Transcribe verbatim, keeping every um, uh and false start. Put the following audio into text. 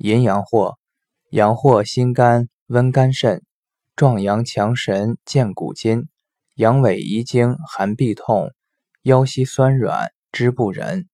淫阳藿，阳藿辛甘，温肝肾，壮阳强神，健骨筋，阳痿遗精，寒痹痛，腰膝酸软，肢不仁。